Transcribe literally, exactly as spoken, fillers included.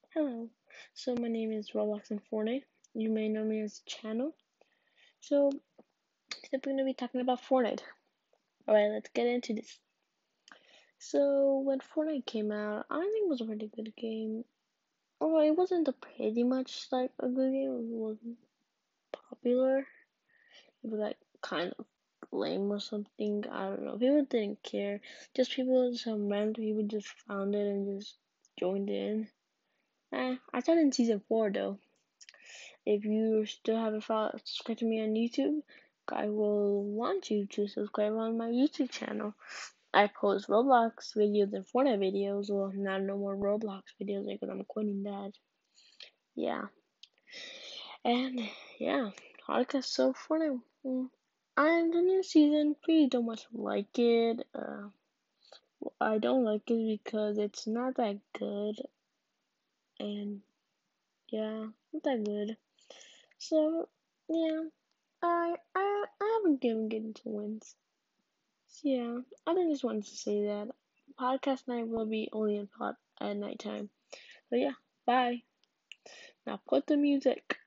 Hello. So my name is Roblox and Fortnite. You may know me as Channel. So today we're gonna be talking about Fortnite. Alright, let's get into this. So when Fortnite came out, I think it was a pretty good game. Oh, it wasn't a pretty much like a good game. It wasn't popular. It was like kind of lame or something. I don't know. People didn't care. Just people, some random people just found it and just joined in. Eh, I started in season four though. If you still haven't followed, subscribed to me on YouTube, I will want you to subscribe on my YouTube channel. I post Roblox videos and Fortnite videos. Well, not no more Roblox videos because I'm quitting that. Yeah, and yeah, podcast so Fortnite. mm, And the new season, really don't much like it. Uh, I don't like it because it's not that good, and yeah, not that good. So yeah, I I I haven't given getting to wins. So yeah, I think just wanted to say that podcast night will be only in pot at nighttime. So yeah, bye. Now put the music.